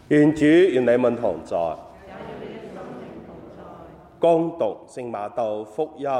願主與你們同在。恭讀聖馬竇福音。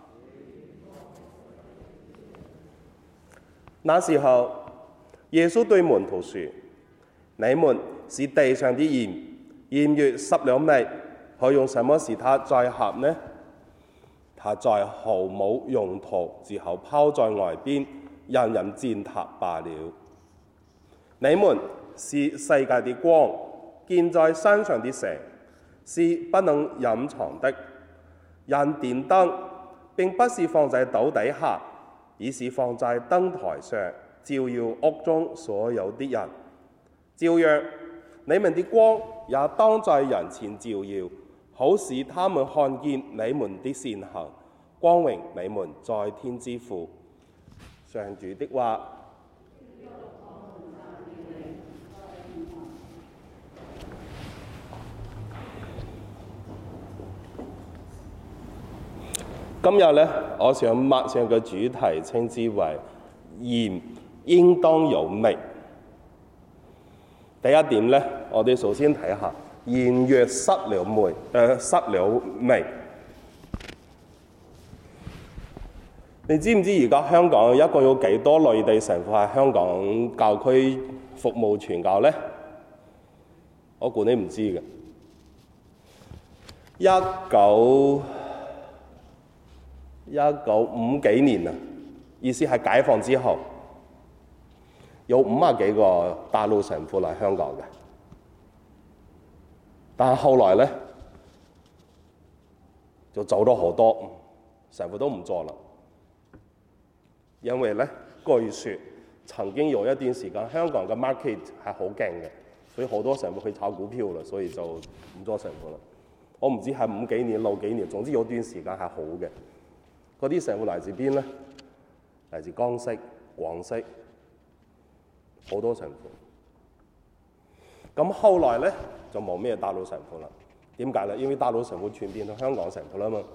那時候，耶穌對門徒說：你們是地上的鹽，鹽若失了味，可用什麼使它再合呢？它在毫無用途之後拋在外邊，人人踐踏罷了。你們是世界的光，建在山上的城，是不能隱藏的。人點燈並不是放在斗底下，而是放在燈臺上，照耀屋中所有的人。照樣，你們的光也當在人前照耀，好使他們看見你們的善行，光榮你們在天之父。上主的話。今日呢，我想默想嘅主題稱之為鹽應當有味。第一點呢，我哋首先睇下鹽若失了味。你知唔知而家香港一共有幾多內地神父喺香港教區服務傳教呢？我估你唔知嘅。1950幾年啊，意思係解放之後，有50幾個大陸神父嚟香港嘅。但係後來呢，就走咗好多神父都唔做啦，因為呢，據說曾經有一段時間香港嘅 market 係好勁嘅，所以好多神父去炒股票啦，所以就唔做神父啦。我唔知係50幾年、60幾年，總之有段時間係好嘅。嗰啲神父嚟自邊呢？嚟自江西、廣西，好多神父。咁後來呢，就冇咩大陸神父啦。點解呢？因為大陸神父全變到香港神父啦嘛。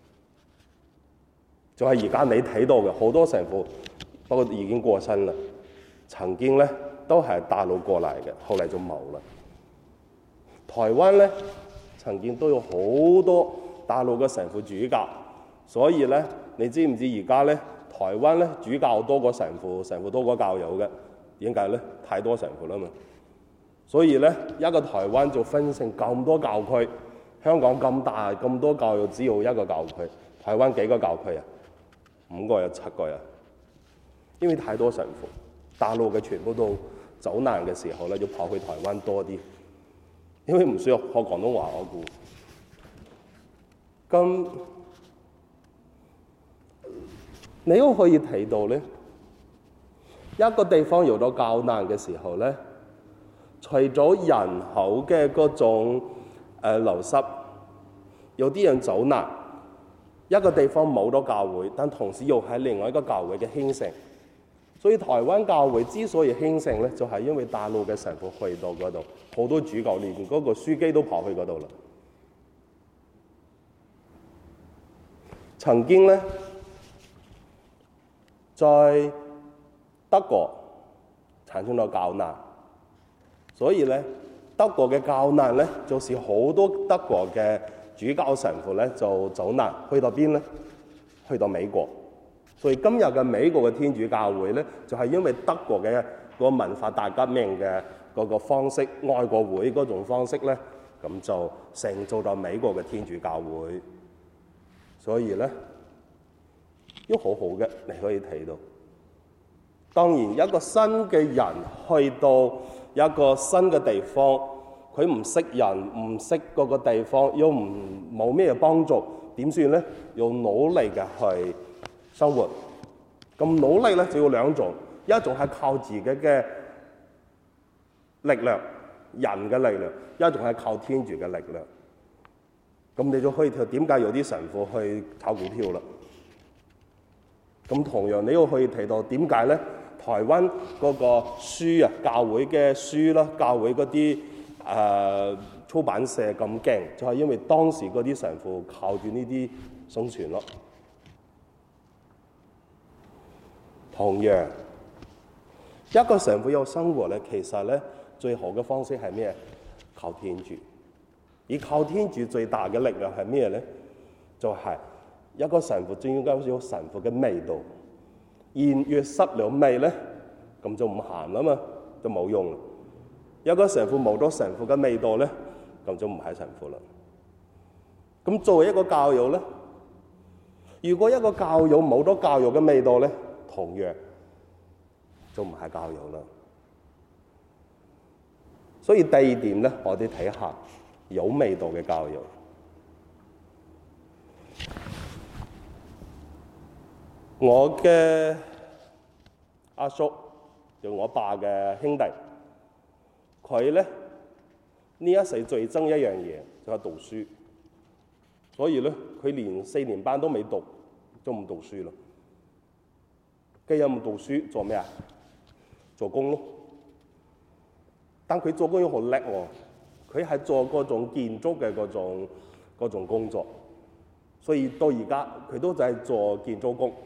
就係而家你睇到嘅好多神父，不過已經過身啦。曾經呢，都係大陸過嚟嘅，後嚟就冇啦。台灣呢，曾經都有好多大陸嘅神父主教。所以咧，你知唔知而家咧，台灣咧主教多過神父，神父多過教友嘅？點解咧？太多神父啦嘛。所以咧，一個台灣就分成咁多教區，香港咁大咁多教友，只有一個教區。台灣幾個教區啊？5個呀7個呀？因為太多神父，大陸嘅全部都走難嘅時候咧，要跑去台灣多啲，因為唔需要學廣東話我估。咁你都可以睇到咧，一個地方有咗較難嘅時候咧，除咗人口嘅嗰種流失，有啲人走難，一個地方冇咗教會，但同時又係另外一個教會嘅興盛。所以台灣教會之所以興盛咧，就係因為大陸嘅神父去到嗰度，好多主教連嗰個書記都跑去嗰度啦。曾經咧，在德國產生咗教難，所以咧德國嘅教難咧，就是好多德國嘅主教神父咧就走難，去到邊咧？去到美國。所以今日嘅美國嘅天主教會咧，就係因為德國嘅個文化大革命嘅嗰個方式，愛國會嗰種方式咧，咁就成造咗美國嘅天主教會。所以咧，都好好嘅，你可以睇到。當然，一個新嘅人去到一個新嘅地方，佢唔識人，唔識嗰個地方，又冇咩幫助，點算咧？要努力嘅去生活。咁努力咧就要兩種，一種係靠自己嘅力量，人嘅力量；一種係靠天主嘅力量。咁你就可以睇點解有啲神父去炒股票啦。咁同樣你又可以睇到點解咧？台灣嗰個書啊，教會嘅書啦，教會嗰啲出版社咁勁，就係因為當時嗰啲神父靠住呢啲生存咯。同樣，一個神父有生活咧，其實咧最好嘅方式係咩？ 靠天主。而靠天主最大嘅力量係咩咧？就係一個神父最應該有神父嘅味道。鹽若失了味咧，咁就唔鹹啦嘛，就冇用啦。一個神父冇咗神父嘅味道咧，咁就唔係神父啦。咁作為一個教友咧，如果一個教友冇咗教友嘅味道咧，同樣就唔係教友啦。所以第二點咧，我哋睇下有味道嘅教友。我嘅阿叔就我爸嘅兄弟，佢咧呢一世最憎一樣嘢就係讀書，所以咧佢連4年班都未讀，就唔讀書啦。既然唔讀書，做咩啊？做工咯。但佢做工又好叻喎，佢係做嗰種建築嘅嗰種工作，所以到而家佢都就係做建築工。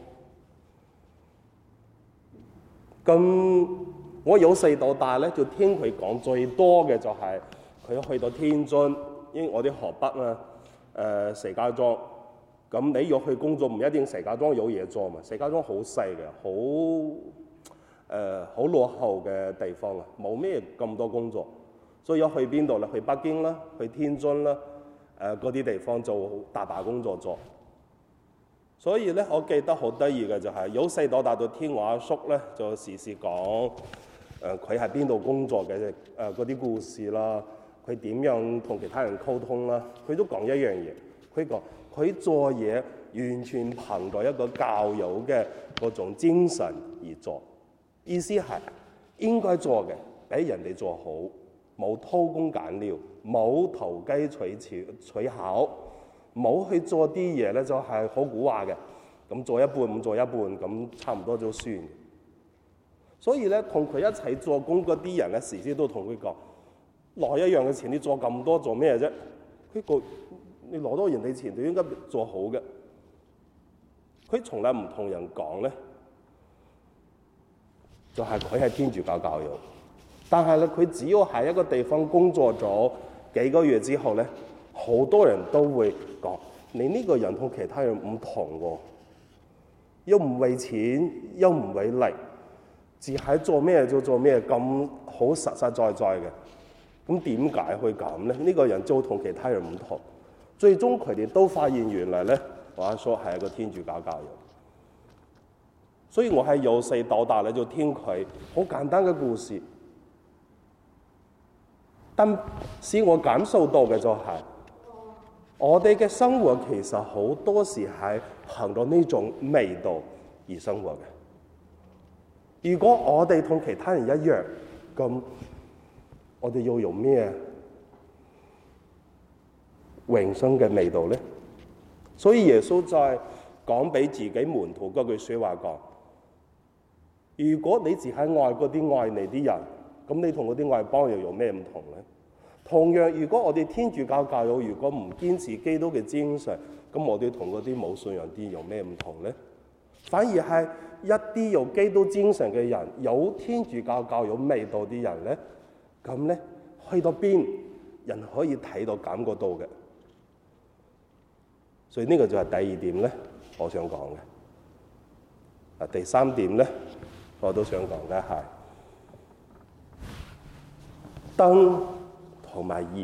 咁我由細到大咧，就聽佢講最多嘅就係佢去到天津，因為我哋河北啊，石家莊。咁你要去工作唔一定石家莊有嘢做嘛，石家莊好細嘅，好落後嘅地方啊，冇咩咁多工作，所以要去邊度咧？去北京啦，去天津啦，嗰啲地方就大把工作做。所以咧，我記得好得意嘅就係由細到大到聽我阿叔咧，就時時講佢喺邊度工作嘅嗰啲故事啦，佢點樣同其他人溝通啦，佢都講一樣嘢。佢講佢做嘢完全憑住一個教友嘅嗰種精神而做，意思係應該做嘅俾人哋做好，冇偷工減料，冇投機取巧。冇去做啲嘢咧，就係好古話嘅，咁做一半唔做一半，咁差唔多就算。所以咧，同佢一齊做工嗰啲人咧，時時都同佢講：攞一樣嘅錢，你做咁多做咩啫？佢講：你攞到人哋錢，就應該做好嘅。佢從來唔同人講咧，就係佢係天主教教友，但係咧，佢只要喺一個地方工作咗幾個月之後咧，好多人都會講：你呢個人同其他人唔同喎，又唔為錢，又唔為利，只係做咩就做咩，咁好實實在在嘅。咁點解會咁咧？呢個人就同其他人唔同。最終佢哋都發現原來咧，我阿叔係一個天主教教友。所以我係由細到大咧就聽佢好簡單嘅故事，但使我感受到嘅就係，我哋嘅生活其實好多時係憑到呢種味道而生活嘅。如果我哋同其他人一樣，咁我哋要用咩永生嘅味道咧？所以耶穌在講俾自己門徒嗰句説話講：如果你只係愛嗰啲愛你啲人，咁你同嗰啲外邦又有咩唔同咧？同樣，如果我哋天主教教友如果唔堅持基督嘅精神，咁我哋同嗰啲冇信仰啲有咩唔同咧？反而係一啲有基督精神嘅人，有天主教教友味道啲人咧，咁咧去到邊人可以睇到感覺到嘅。所以呢個就係第二點咧，我想講嘅。第三點咧，我都想講嘅係燈同埋鹽，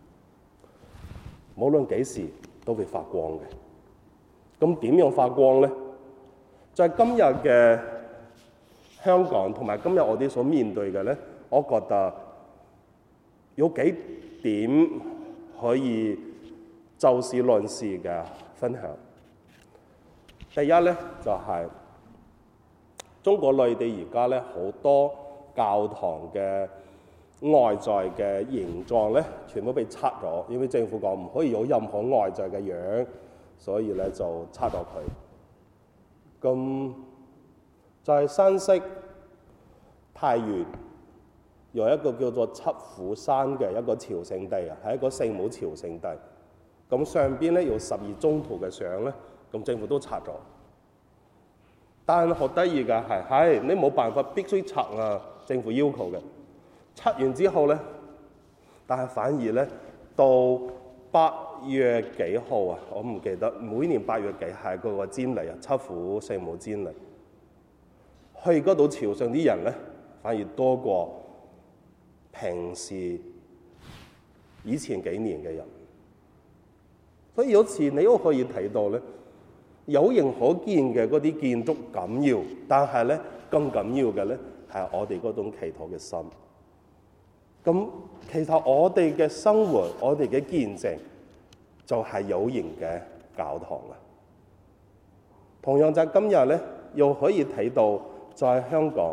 無論幾時都會發光嘅。咁點樣發光咧？就係今日嘅香港同埋今日我哋所面對嘅咧，我覺得有幾點可以就事論事嘅分享。第一咧就係中國內地而家咧好多教堂嘅外在嘅形狀咧，全部被拆咗，因為政府講唔可以有任何外在嘅樣，所以咧就拆咗佢。咁就係山西太原有一個叫做七虎山嘅一個朝聖地啊，係一個聖母朝聖地。咁上邊咧有12宗徒嘅相咧，咁政府都拆咗。但係好得意嘅係你冇辦法必須拆啊，政府要求嘅。拆完之後咧， 但係反而咧到8月幾號啊，我唔記得，每年8月幾係嗰個瞻禮啊，七府聖母瞻禮，去嗰度朝聖啲人咧反而多過平時以前幾年嘅人。所以有時你都可以睇到咧，有形可見嘅嗰啲建築緊要，但係咧更緊要嘅咧係我哋嗰種祈禱嘅心。咁其實我哋嘅生活，我哋嘅見證就係有形嘅教堂啊。同樣就係今日咧，又可以睇到在香港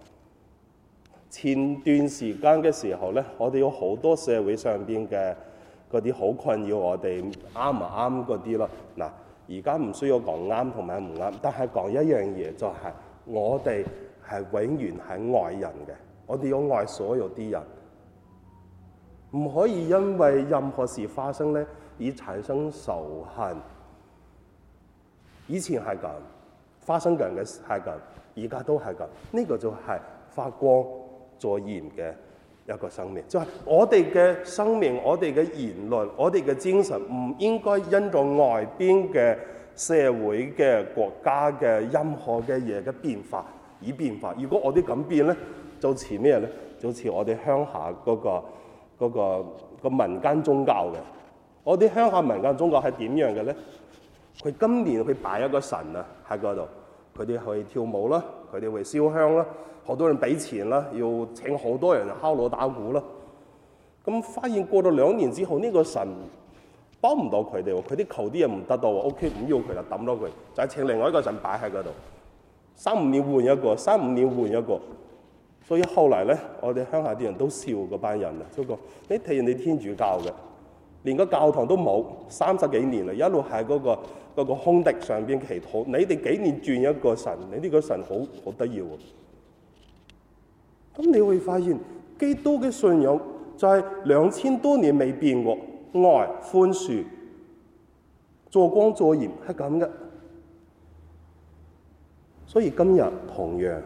前段時間嘅時候咧，我哋有好多社會上邊嘅嗰啲好困擾我哋啱唔啱嗰啲咯。嗱，而家唔需要講啱同埋唔啱，但係講一樣嘢就係我哋係永遠係愛人嘅，我哋要愛所有啲人，唔可以因為任何事發生咧而產生仇恨。以前係咁，發生緊嘅係咁，而家都係咁。呢個就係發光作鹽嘅一個生命，就係我哋嘅生命，我哋嘅言論，我哋嘅精神，唔應該因着外邊嘅社會嘅國家嘅任何嘅嘢嘅變化而變化。如果我哋咁變咧，就似咩咧？就似我哋鄉下嗰個民間宗教嘅。我哋鄉下民間宗教係點樣嘅咧？佢今年佢擺一個神啊喺嗰度，佢哋去跳舞啦，佢哋會燒香啦，好多人俾錢啦，要請好多人敲鑼打鼓啦。咁發現過咗2年之後，呢個神幫唔到佢哋喎，佢啲求啲嘢唔得到喎 ，OK 唔要佢啦，抌咗佢，就係請另外一個神擺喺嗰度，3-5年換一個，3-5年換一個。所以後嚟咧，我哋鄉下啲人都笑嗰班人啊，不過你睇人哋天主教嘅，連個教堂都冇，30幾年啦，一路喺嗰個空地上邊祈禱。你哋幾年轉一個神，你呢個神好得意喎。咁你會發現，基督嘅信仰就係2000多年未變過，愛、寬恕、做光做鹽係咁嘅。所以今日同樣，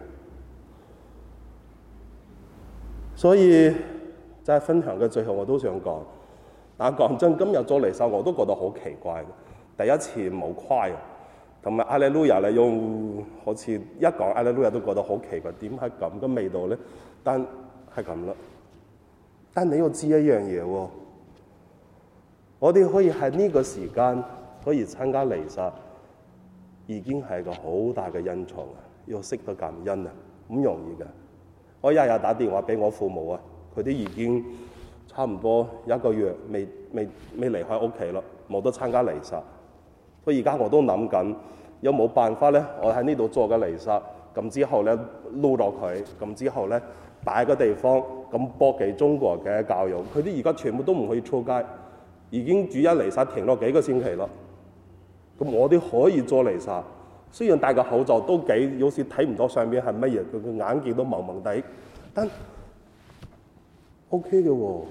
所以就係分享嘅最後，我都想講。但係講真，今日做彌撒我都覺得好奇怪嘅。第一次冇誇，同埋阿利路亞咧，用好似一講阿利路亞都覺得好奇怪，點係咁嘅味道咧？但係咁啦。但你要知一樣嘢喎，我哋可以喺呢個時間可以參加彌撒，已經係個好大嘅恩寵啊！要識得感恩啊，唔容易嘅。我日日打電話俾我父母啊，佢哋已經差唔多1個月未離開屋企啦，冇得參加彌撒。所以而家我都諗緊有冇辦法咧，我喺呢度做個彌撒，咁之後咧錄落佢，咁之後咧擺個地方，咁播給中國嘅教友。佢哋而家全部都唔可以出街，已經主日彌撒停咗幾個星期啦。咁我哋可以做彌撒，雖然戴個口罩都有時睇唔到上面係乜嘢，佢個眼鏡都蒙蒙地，但 OK 嘅喎。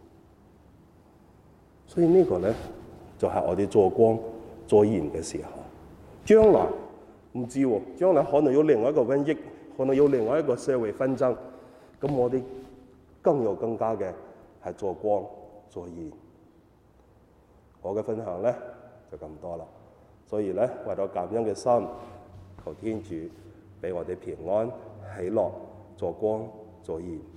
所以呢個咧就係我哋做光做鹽嘅時候。將來唔知喎，將來可能有另外一個瘟疫，可能有另外一個社會紛爭，咁我哋更加嘅係做光做鹽。我嘅分享咧就咁多啦。所以咧，為咗感恩嘅心，求天主俾我哋平安喜樂，做光做鹽。